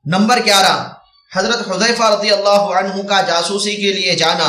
Number 11، حضرت حذیفہ رضی اللہ عنہ کا جاسوسی کے لیے جانا۔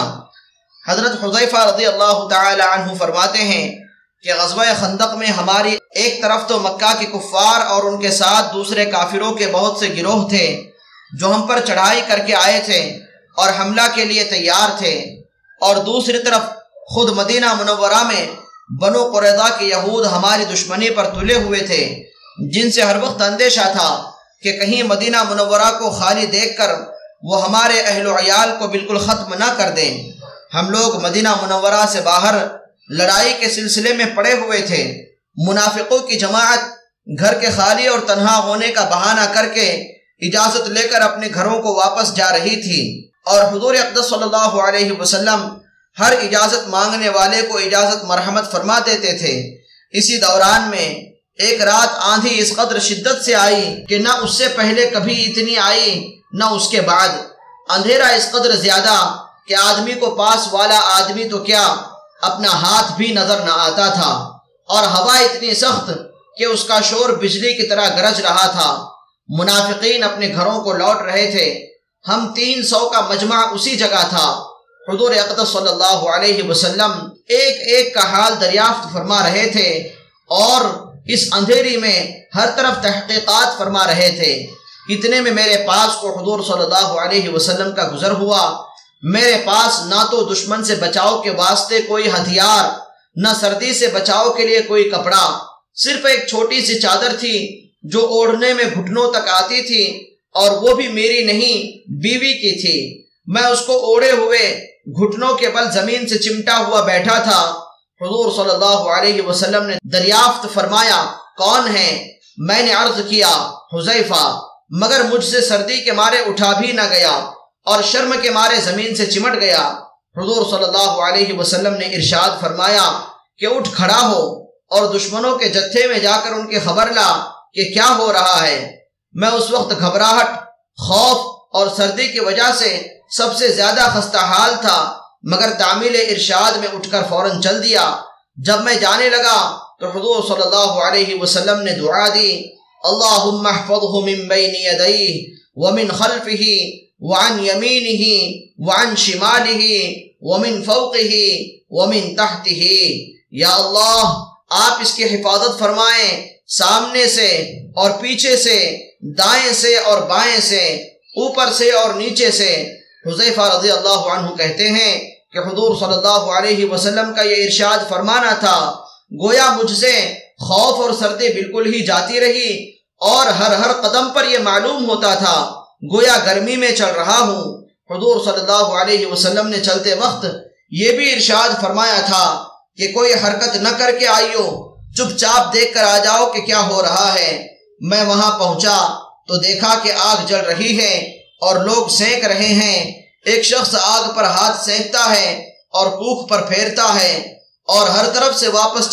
حضرت حذیفہ رضی اللہ تعالی عنہ فرماتے ہیں کہ غزوہ خندق میں ہماری ایک طرف تو مکہ کے کفار اور ان کے ساتھ دوسرے کافروں کے بہت سے گروہ تھے جو ہم پر چڑھائی کر کے آئے تھے اور حملہ کے لیے تیار تھے، اور دوسری طرف خود مدینہ منورہ میں بنو قریظہ کے یہود ہماری دشمنی پر تلے ہوئے تھے، جن سے ہر وقت اندیشہ تھا کہ کہیں مدینہ منورہ کو خالی دیکھ کر وہ ہمارے اہل و عیال کو بالکل ختم نہ کر دیں۔ ہم لوگ مدینہ منورہ سے باہر لڑائی کے سلسلے میں پڑے ہوئے تھے۔ منافقوں کی جماعت گھر کے خالی اور تنہا ہونے کا بہانہ کر کے اجازت لے کر اپنے گھروں کو واپس جا رہی تھی، اور حضور اقدس صلی اللہ علیہ وسلم ہر اجازت مانگنے والے کو اجازت مرحمت فرما دیتے تھے۔ اسی دوران میں ایک رات آندھی اس قدر شدت سے آئی کہ نہ اس سے پہلے کبھی اتنی آئی نہ اس کے بعد۔ اندھیرا اس قدر زیادہ کہ آدمی کو پاس والا آدمی تو کیا اپنا ہاتھ بھی نظر نہ آتا تھا، اور ہوا اتنی سخت کہ اس کا شور بجلی کی طرح گرج رہا تھا۔ منافقین اپنے گھروں کو لوٹ رہے تھے۔ ہم 300 کا مجمع اسی جگہ تھا۔ حضور اقدس صلی اللہ علیہ وسلم ایک ایک کا حال دریافت فرما رہے تھے اور اس اندھیری میں ہر طرف تحقیقات فرما رہے تھے۔ اتنے میں میرے پاس کو حضور صلی اللہ علیہ وسلم کا گزر ہوا۔ میرے پاس نہ تو دشمن سے بچاؤ کے واسطے کوئی ہتھیار، نہ سردی سے بچاؤ کے لیے کوئی کپڑا، صرف ایک چھوٹی سی چادر تھی جو اوڑھنے میں گھٹنوں تک آتی تھی، اور وہ بھی میری نہیں بیوی کی تھی۔ میں اس کو اوڑھے ہوئے گھٹنوں کے بل زمین سے چمٹا ہوا بیٹھا تھا۔ حضور صلی اللہ علیہ وسلم نے دریافت فرمایا، کون ہے؟ میں نے عرض کیا، حذیفہ، مگر مجھ سے سردی کے مارے اٹھا بھی نہ گیا اور شرم کے مارے زمین سے چمٹ گیا۔ حضور صلی اللہ علیہ وسلم نے ارشاد فرمایا کہ اٹھ کھڑا ہو اور دشمنوں کے جتھے میں جا کر ان کی خبر لا کہ کیا ہو رہا ہے۔ میں اس وقت گھبراہٹ، خوف اور سردی کی وجہ سے سب سے زیادہ خستہ حال تھا، مگر تعمیل ارشاد میں اٹھ کر فوراً چل دیا۔ جب میں جانے لگا تو حضور صلی اللہ علیہ وسلم نے دعا دی، اللہم احفظہ من بین یدیہ ومن خلفہ وعن یمینہ وعن شمالہ ومن فوقہ ومن تحتہ۔ یا اللہ، آپ اس کی حفاظت فرمائیں، سامنے سے اور پیچھے سے، دائیں سے اور بائیں سے، اوپر سے اور نیچے سے۔ حذیفہ رضی اللہ عنہ کہتے ہیں کہ حضور صلی اللہ علیہ وسلم کا یہ ارشاد فرمانا تھا، گویا مجھ سے خوف اور سردی بالکل ہی جاتی رہی، اور ہر قدم پر یہ معلوم ہوتا تھا گویا گرمی میں چل رہا ہوں۔ حضور صلی اللہ علیہ وسلم نے چلتے وقت یہ بھی ارشاد فرمایا تھا کہ کوئی حرکت نہ کر کے آئیو، چپ چاپ دیکھ کر آ جاؤ کہ کیا ہو رہا ہے۔ میں وہاں پہنچا تو دیکھا کہ آگ جل رہی ہے اور لوگ سینک رہے ہیں۔ ایک شخص آگ پر ہاتھ سینکتا ہے اور کوکھ پر پھیرتا ہے، اور ہر طرف سے واپس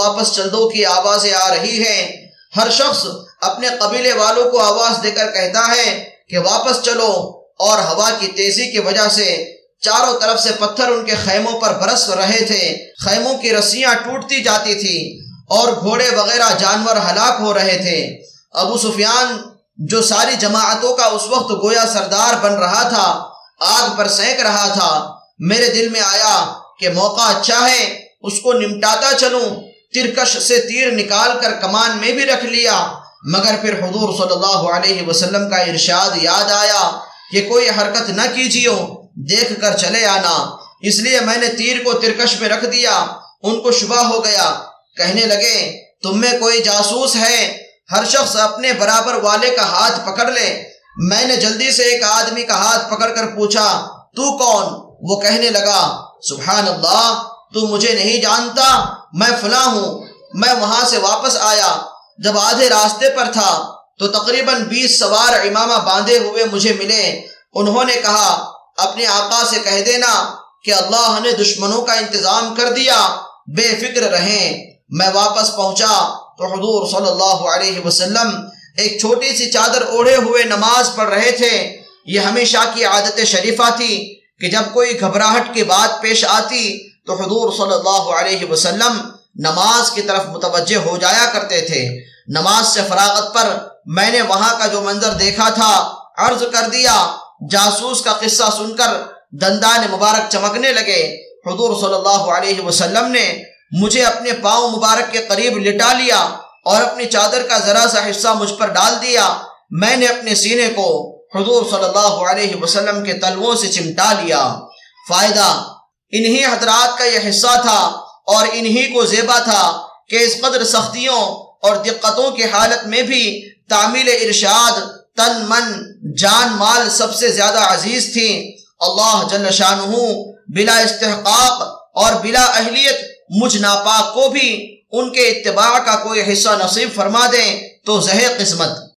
چل دو کی آوازیں آ رہی ہیں۔ ہر شخص اپنے قبیلے والوں کو آواز دے کر کہتا ہے کہ واپس چلو، اور ہوا کی تیزی کی وجہ سے چاروں طرف سے پتھر ان کے خیموں پر برس رہے تھے۔ خیموں کی رسیاں ٹوٹتی جاتی تھی اور گھوڑے وغیرہ جانور ہلاک ہو رہے تھے۔ ابو سفیان جو ساری جماعتوں کا اس وقت گویا سردار بن رہا تھا، آگ پر سینک رہا تھا۔ میرے دل میں آیا کہ موقع اچھا ہے، اس کو نمٹاتا چلوں۔ ترکش سے تیر نکال کر کمان میں بھی رکھ لیا، مگر پھر حضور صلی اللہ علیہ وسلم کا ارشاد یاد آیا کہ کوئی حرکت نہ کیجیو، دیکھ کر چلے آنا۔ اس لیے میں نے تیر کو ترکش میں رکھ دیا۔ ان کو شبہ ہو گیا، کہنے لگے، تم میں کوئی جاسوس ہے؟ ہر شخص اپنے برابر والے کا ہاتھ پکڑ لے۔ میں نے جلدی سے ایک آدمی کا ہاتھ پکڑ کر پوچھا، تو کون؟ وہ کہنے لگا، سبحان اللہ، تو مجھے نہیں جانتا، میں فلاں ہوں۔ میں وہاں سے واپس آیا۔ جب آدھے راستے پر تھا تو تقریباً 20 سوار عمامہ باندھے ہوئے مجھے ملے۔ انہوں نے کہا، اپنے آقا سے کہہ دینا کہ اللہ نے دشمنوں کا انتظام کر دیا، بے فکر رہیں۔ میں واپس پہنچا تو حضور صلی اللہ علیہ وسلم ایک چھوٹی سی چادر اوڑھے ہوئے نماز پڑھ رہے تھے۔ یہ ہمیشہ کی عادت شریفہ تھی کہ جب کوئی گھبراہٹ کی بات پیش آتی تو حضور صلی اللہ علیہ وسلم نماز کی طرف متوجہ ہو جایا کرتے تھے۔ نماز سے فراغت پر میں نے وہاں کا جو منظر دیکھا تھا عرض کر دیا۔ جاسوس کا قصہ سن کر دندان مبارک چمکنے لگے۔ حضور صلی اللہ علیہ وسلم نے مجھے اپنے پاؤں مبارک کے قریب لٹا لیا اور اپنی چادر کا ذرا سا حصہ مجھ پر ڈال دیا۔ میں نے اپنے سینے کو حضور صلی اللہ علیہ وسلم کے تلووں سے چمٹا لیا۔ فائدہ انہی حضرات کا یہ حصہ تھا اور انہی کو زیبا تھا کہ اس قدر سختیوں اور دقتوں کی حالت میں بھی تعمیل ارشاد تن من جان مال سب سے زیادہ عزیز تھی۔ اللہ جل شانہ بلا استحقاق اور بلا اہلیت مجھ ناپاک کو بھی ان کے اتباع کا کوئی حصہ نصیب فرما دیں تو زہے قسمت۔